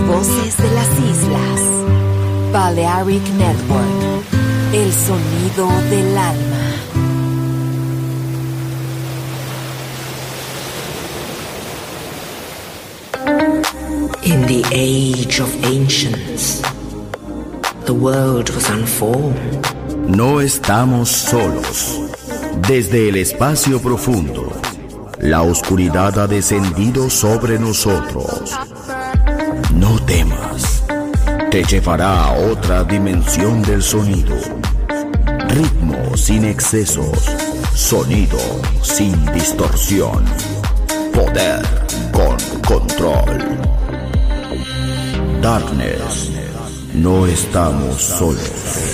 Voces de las islas. Balearic Network. El sonido del alma. In the age of ancients, the world was unformed. No estamos solos. Desde el espacio profundo, la oscuridad ha descendido sobre nosotros. No temas, te llevará a otra dimensión del sonido. Ritmo sin excesos, sonido sin distorsión, poder con control. Darkness, no estamos solos.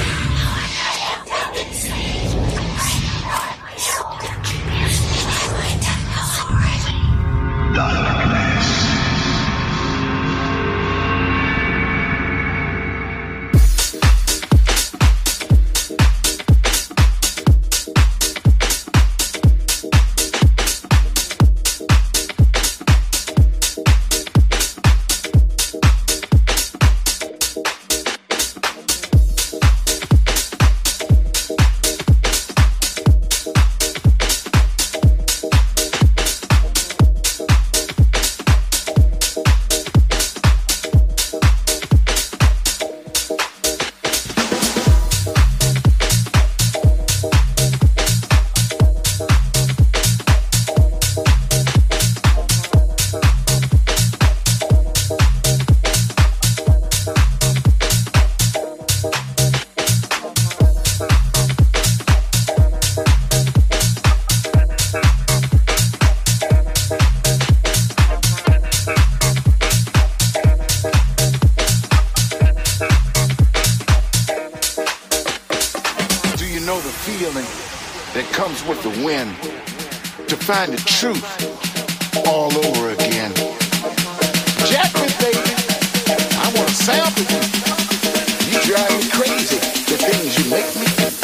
Find the truth all over again. Jack me, baby. I want to sample you. You drive me crazy. The things you make me do.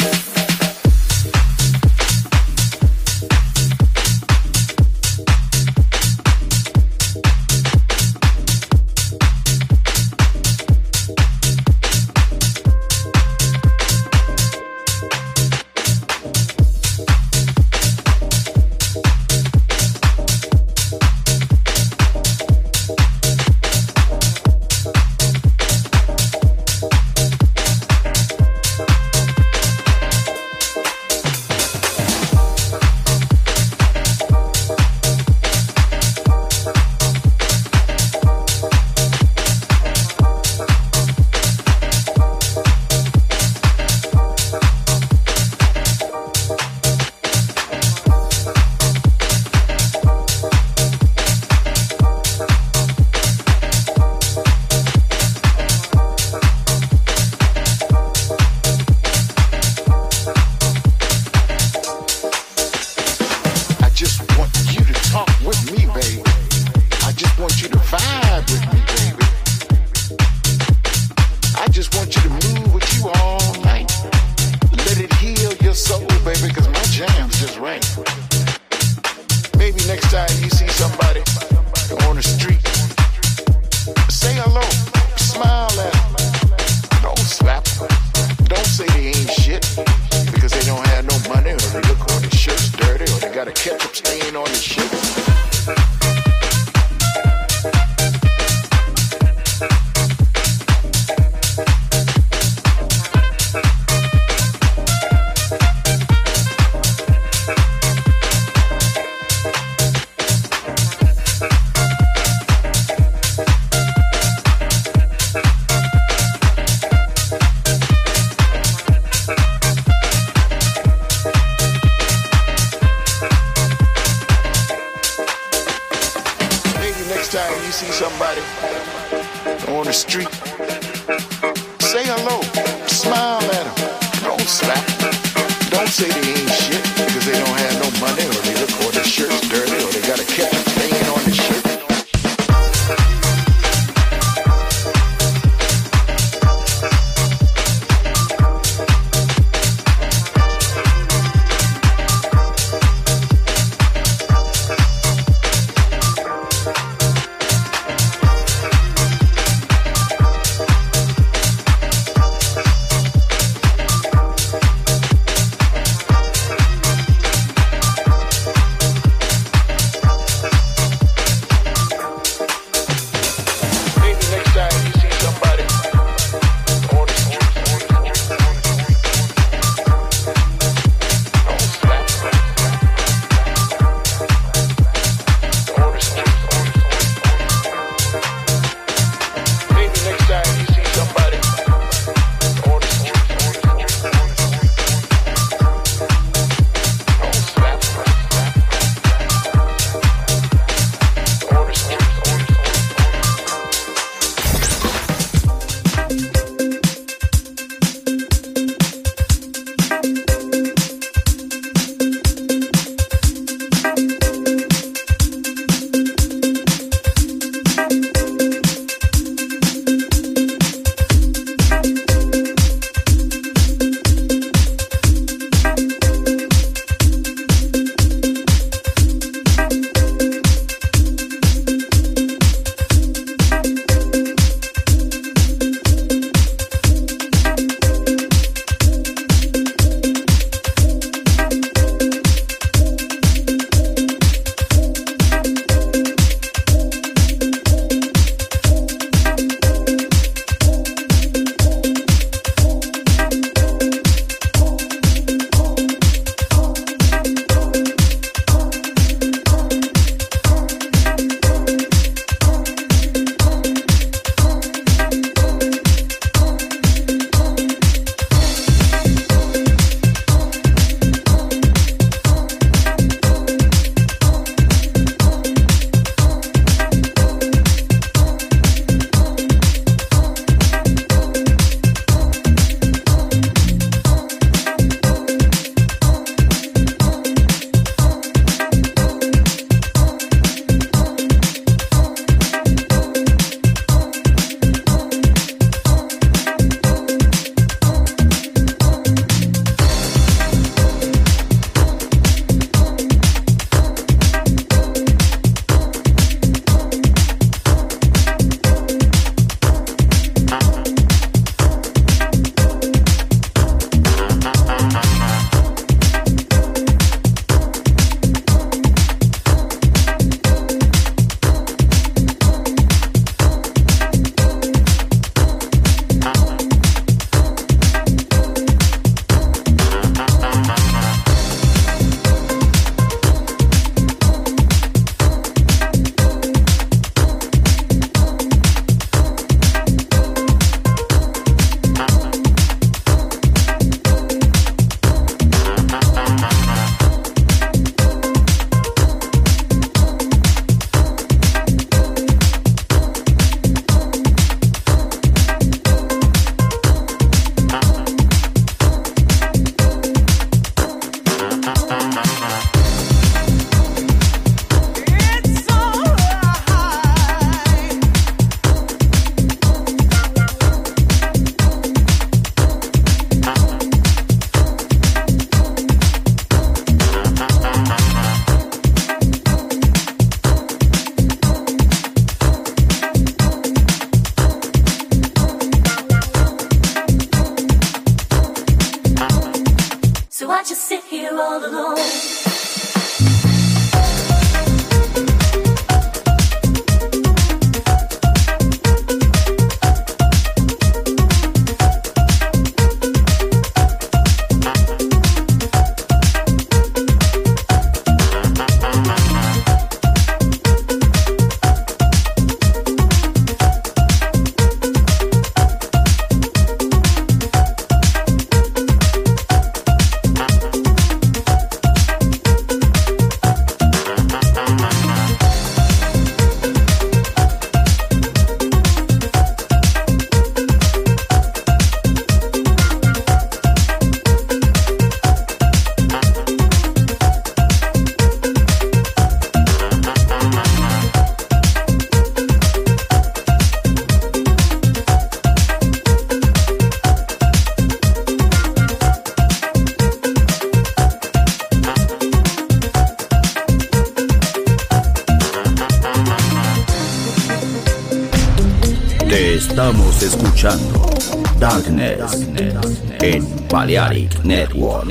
Estamos escuchando Darkness en Balearic Network.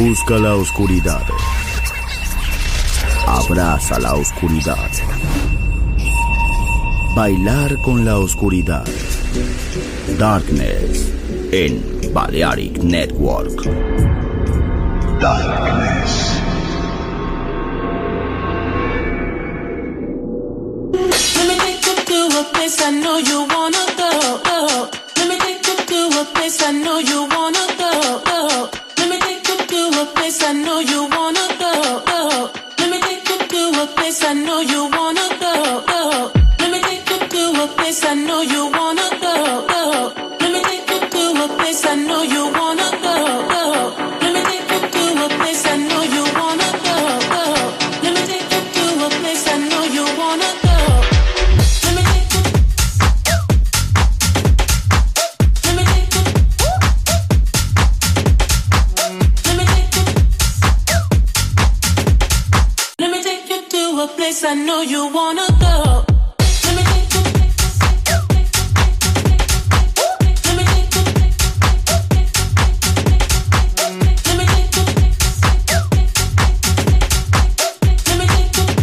Busca la oscuridad. Abraza la oscuridad. Bailar con la oscuridad. Darkness en Balearic Network. Darkness. Let me take you to a place I know you wanna go. Let me take you to a place I know you wanna go. Let me take you to a place I know you wanna go. Let me take you to a place I know you wanna go. Let me take you to a place I know you wanna go. Let me take you to a place I know you wanna go. Let me take you to a place I know you wanna go. Let me take you to a place I know you wanna go. I know you wanna go. Let me take you. Let me take you. Let me take you. Let me take you.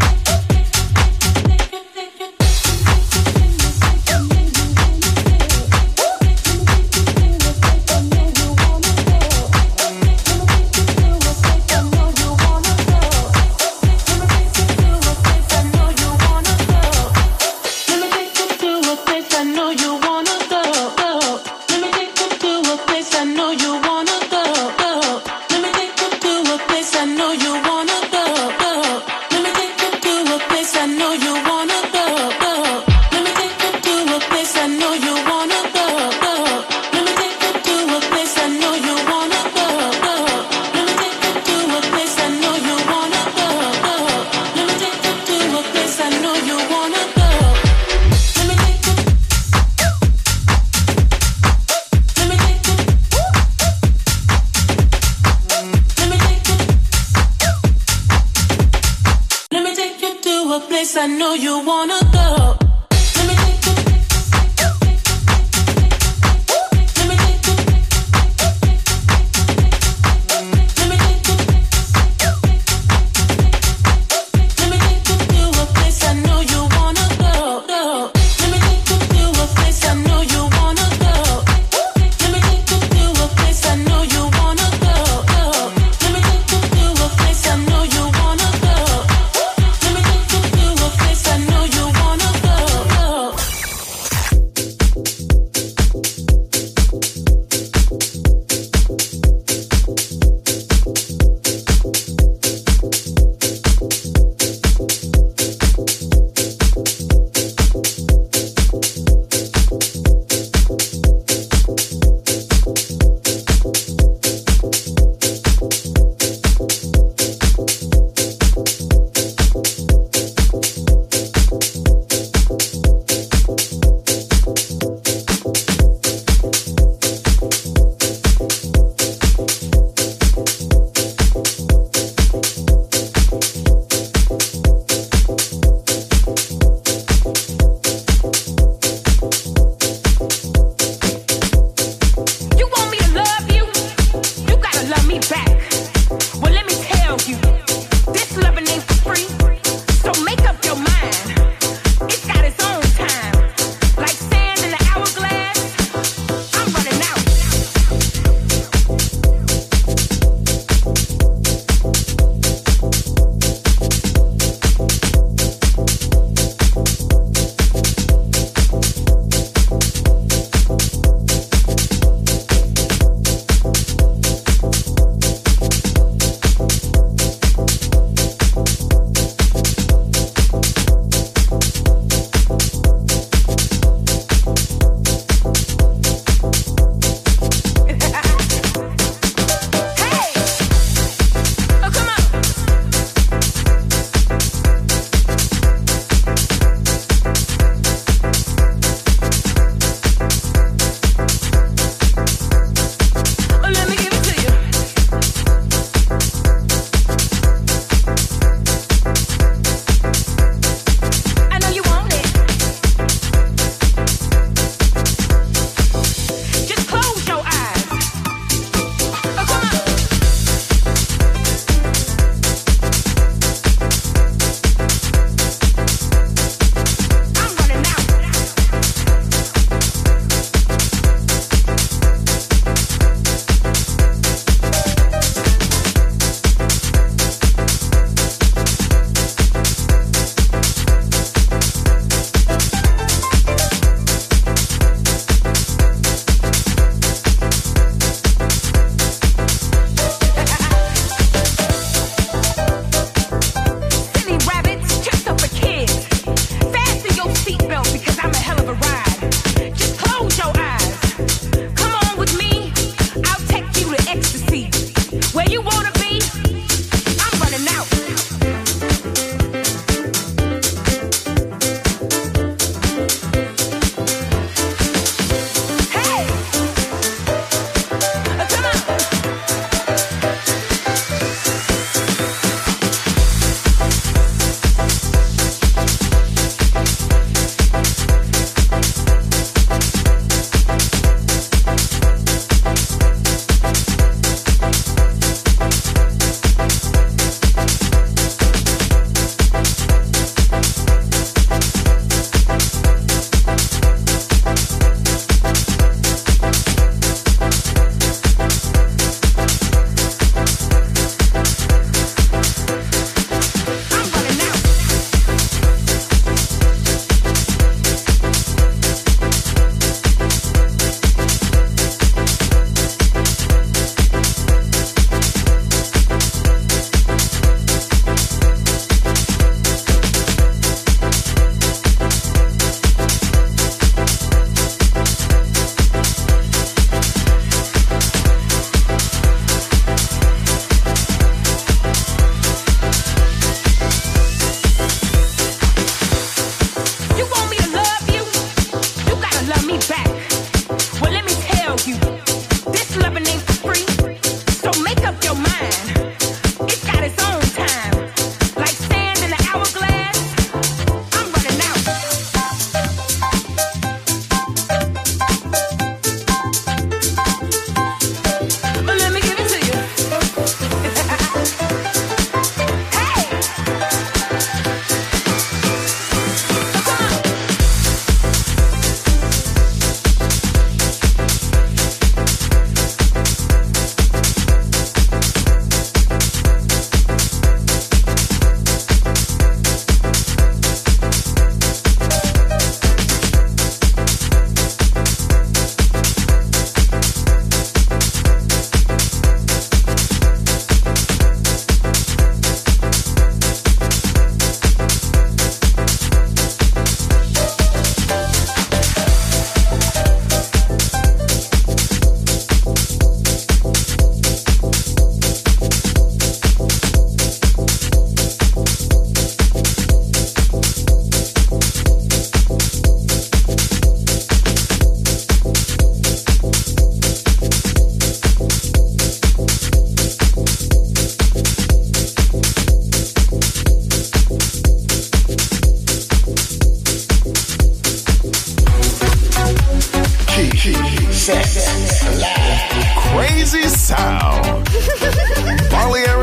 I know you wanna go. Let me take you. Let me take you. Let me take you. Let me take you to a place I know you wanna go. Let me take you to a place I know you wanna go. Let me take you to a place I know you wanna go. Let me take you to a place I know you wanna go. Let me take you to a place I know you wanna go. You want me to love you? You gotta love me back. Well, let me tell you, this loving ain't for free. So make up your mind. It's got its own time. Like sand in the hourglass, I'm running out.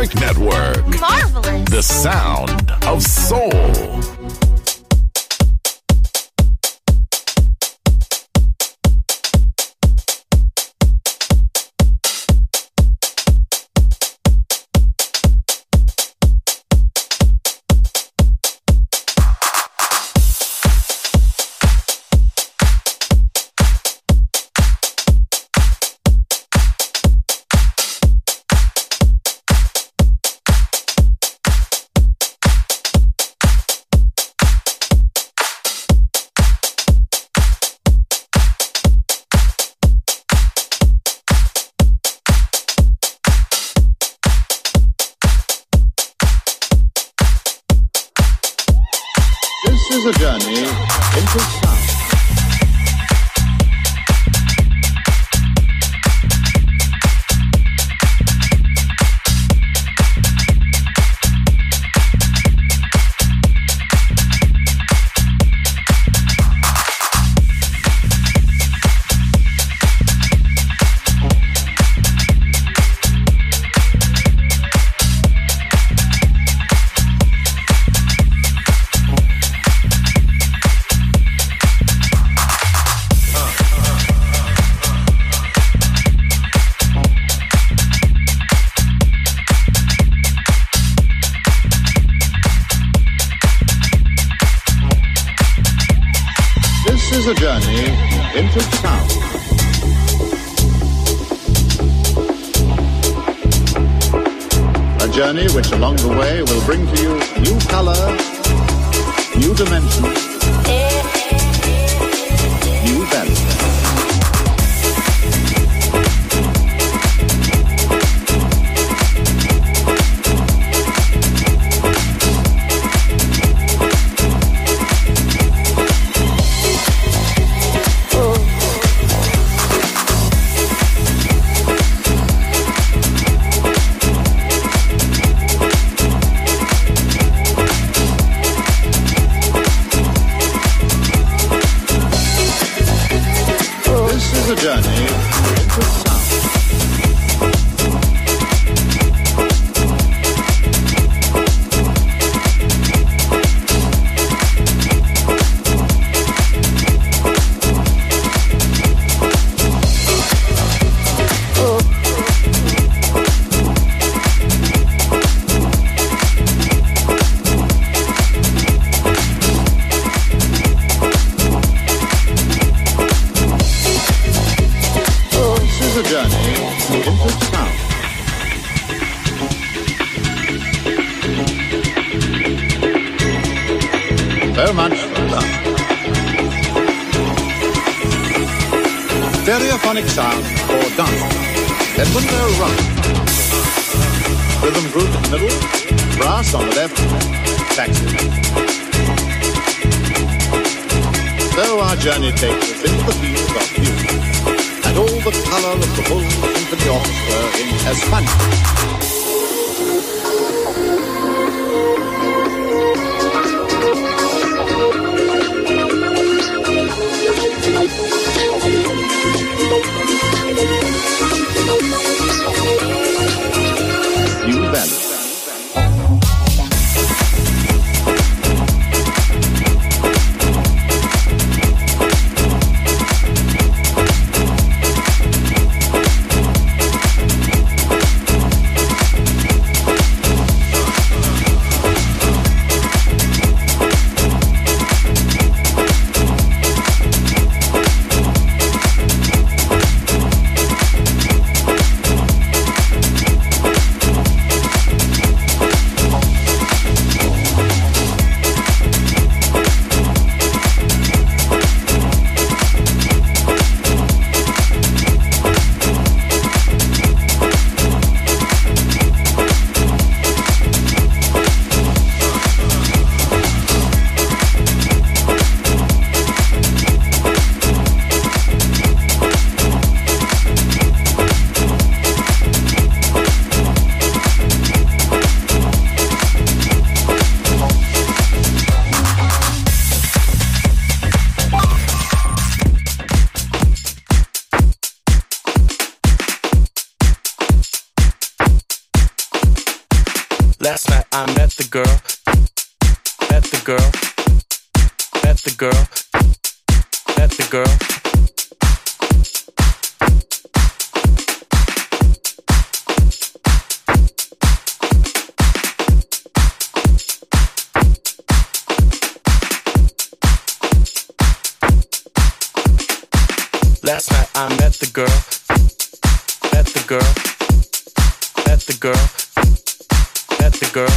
Balearic Network. Marvelous. The sound of soul. This is a journey into sound. This is a journey into sound. A journey which along the way will bring to you new color, new dimension, new value. A journey into sound. A journey into sound. So much love. Stereophonic sound for dance. Edmund O'Rourke. Rhythm group in the middle, brass on the left, saxophone. So our journey takes us into the field of music. And all the color of the whole symphony orchestra in España. New value. Last night I met the girl. Met the girl. Met the girl. Met the girl. Last night I met the girl. Met the girl. Met the girl. Met the girl.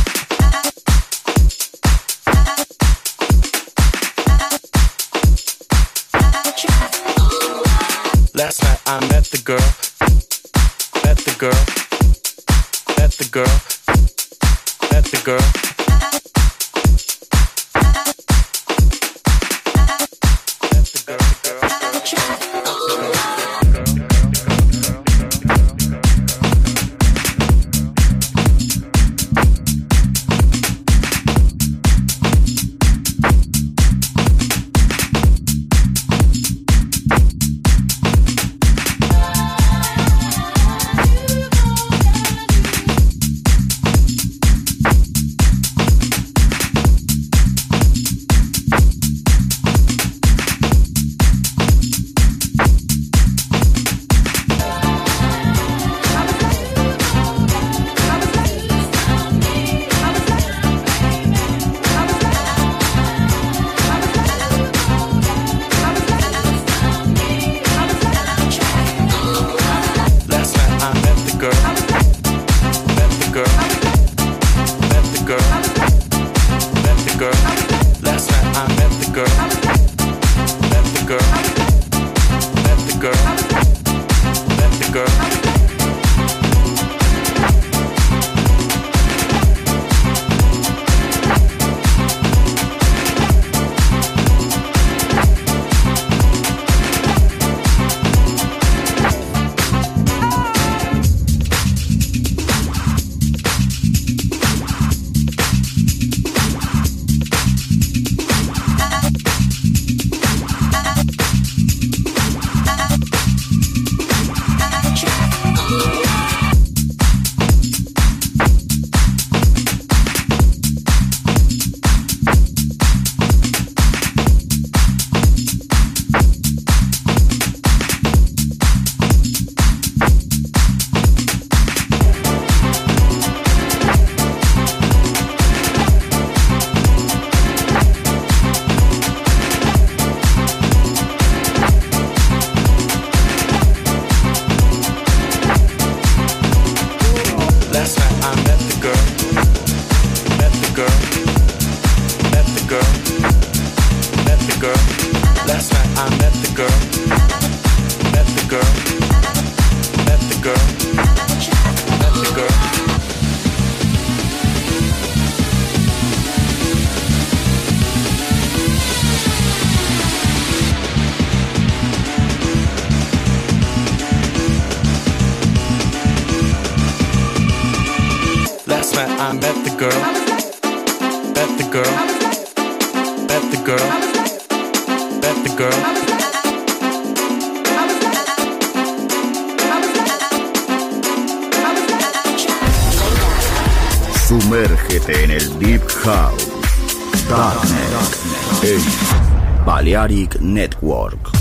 Last night I met the girl. Met the girl. Met the girl. Met the girl. I met the girl. Met the girl. Met the girl. Met the girl. Sumérgete en el Deep House. Darknet. En Balearic Network.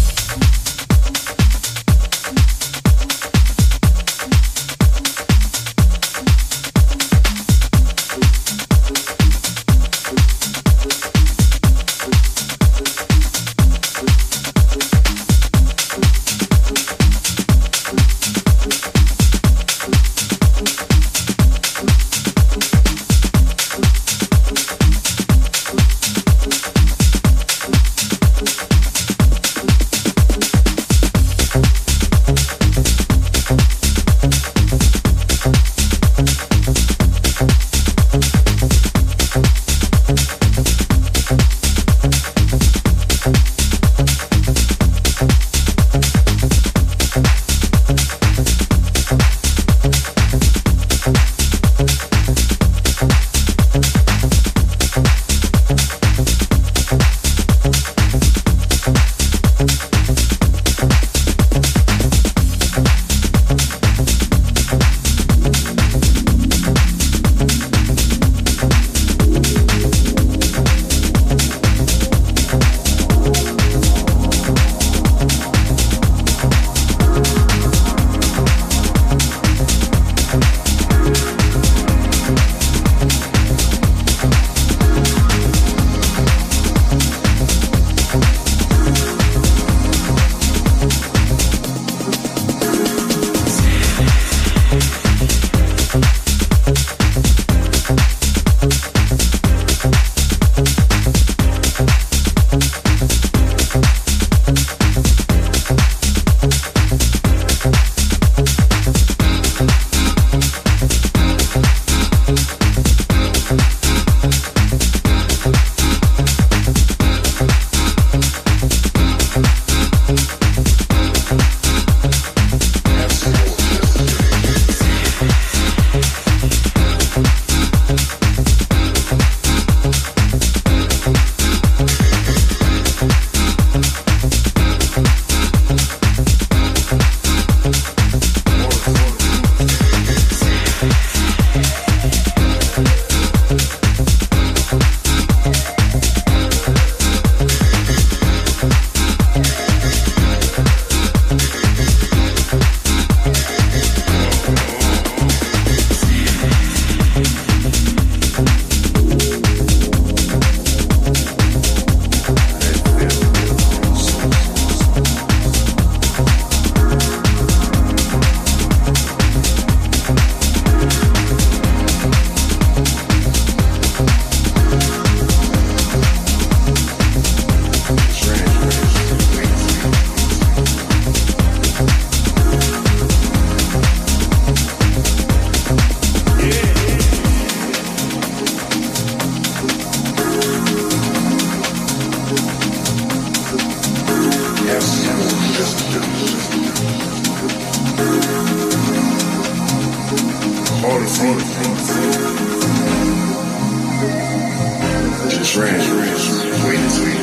Just ran, waiting.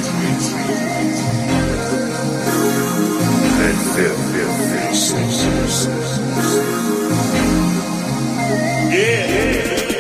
That feel. Yeah.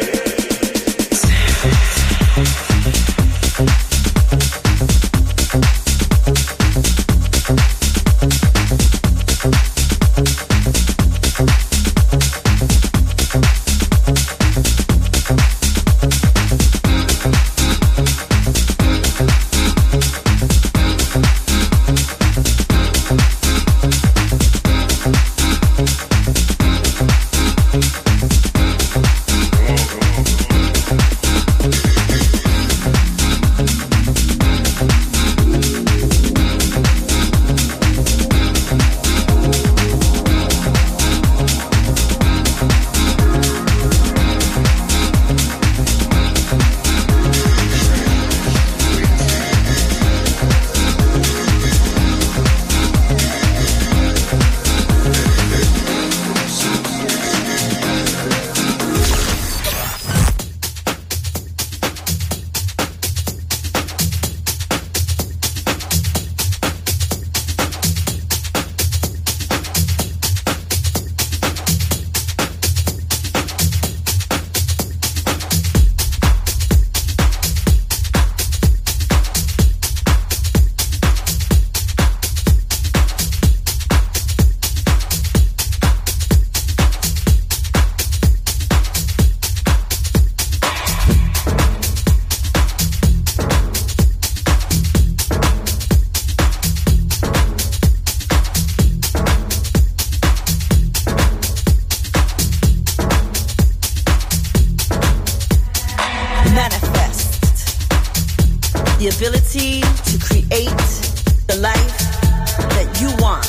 The ability to create the life that you want,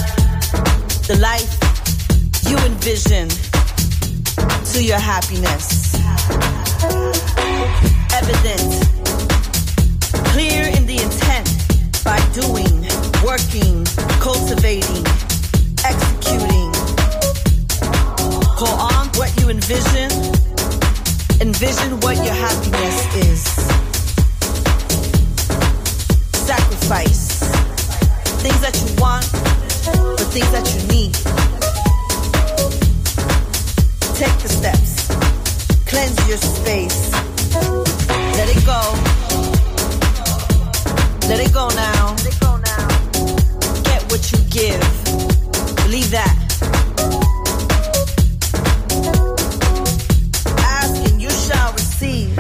the life you envision to your happiness. Evident, clear in the intent by doing, working, cultivating, executing. Call on what you envision. Envision what your happiness is. Sacrifice things that you want for things that you need. Take the steps. Cleanse your space. Let it go. Let it go now. Get what you give. Believe that. Ask and you shall receive.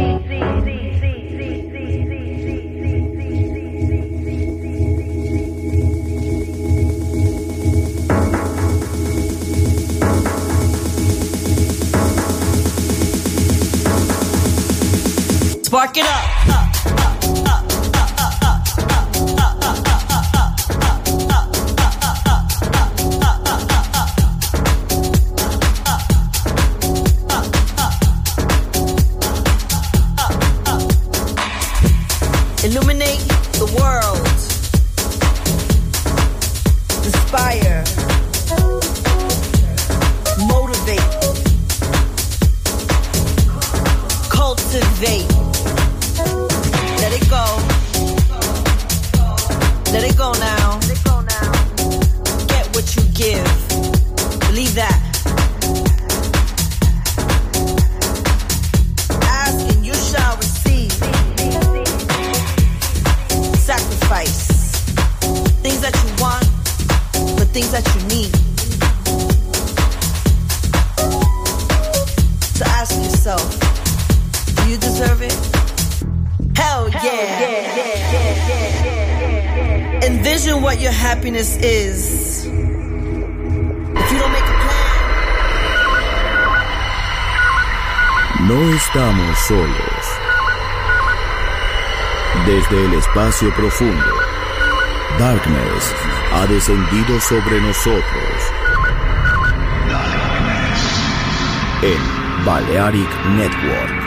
Spark it up. Illuminate the world. Inspire. Motivate. Cultivate. Let it go. Let it go now. Get what you give. Believe that. Ask and you shall receive. Sacrifice things that you want for things that you need. So ask yourself, do you deserve it? Hell yeah. Envision what your happiness is. If you don't make a plan. No estamos solos. Desde el espacio profundo, Darkness ha descendido sobre nosotros. En Balearic Network.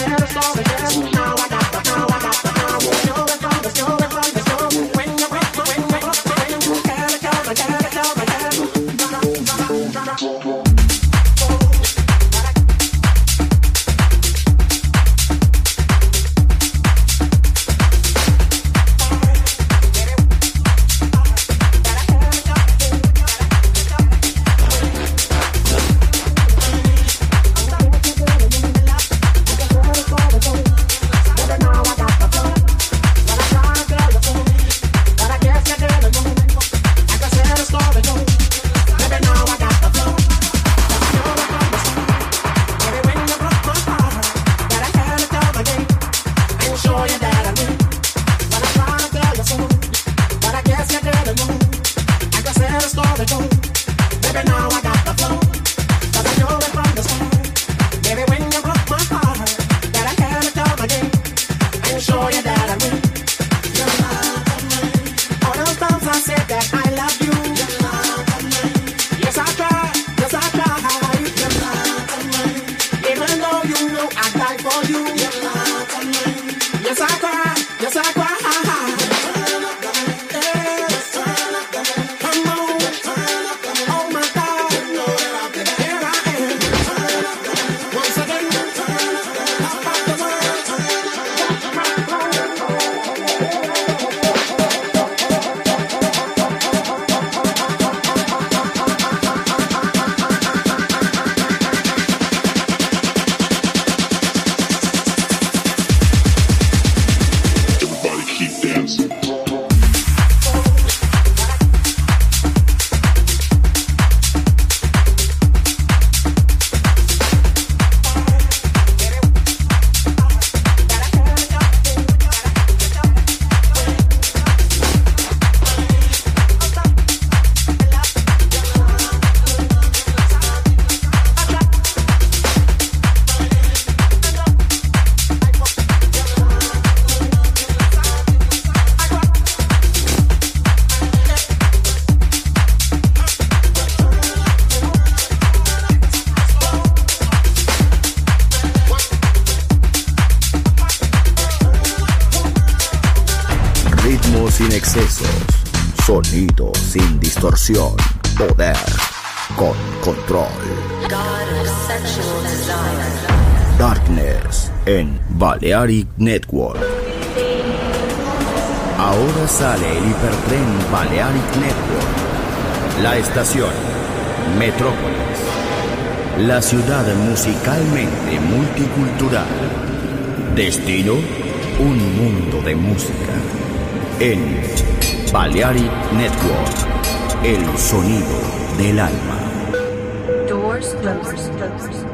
Sin excesos, sonido sin distorsión, poder con control. Darkness en Balearic Network. Ahora sale el hipertren Balearic Network. La estación Metrópolis. La ciudad musicalmente multicultural. Destino, un mundo de música. En Balearic Network, el sonido del alma. Doors closed.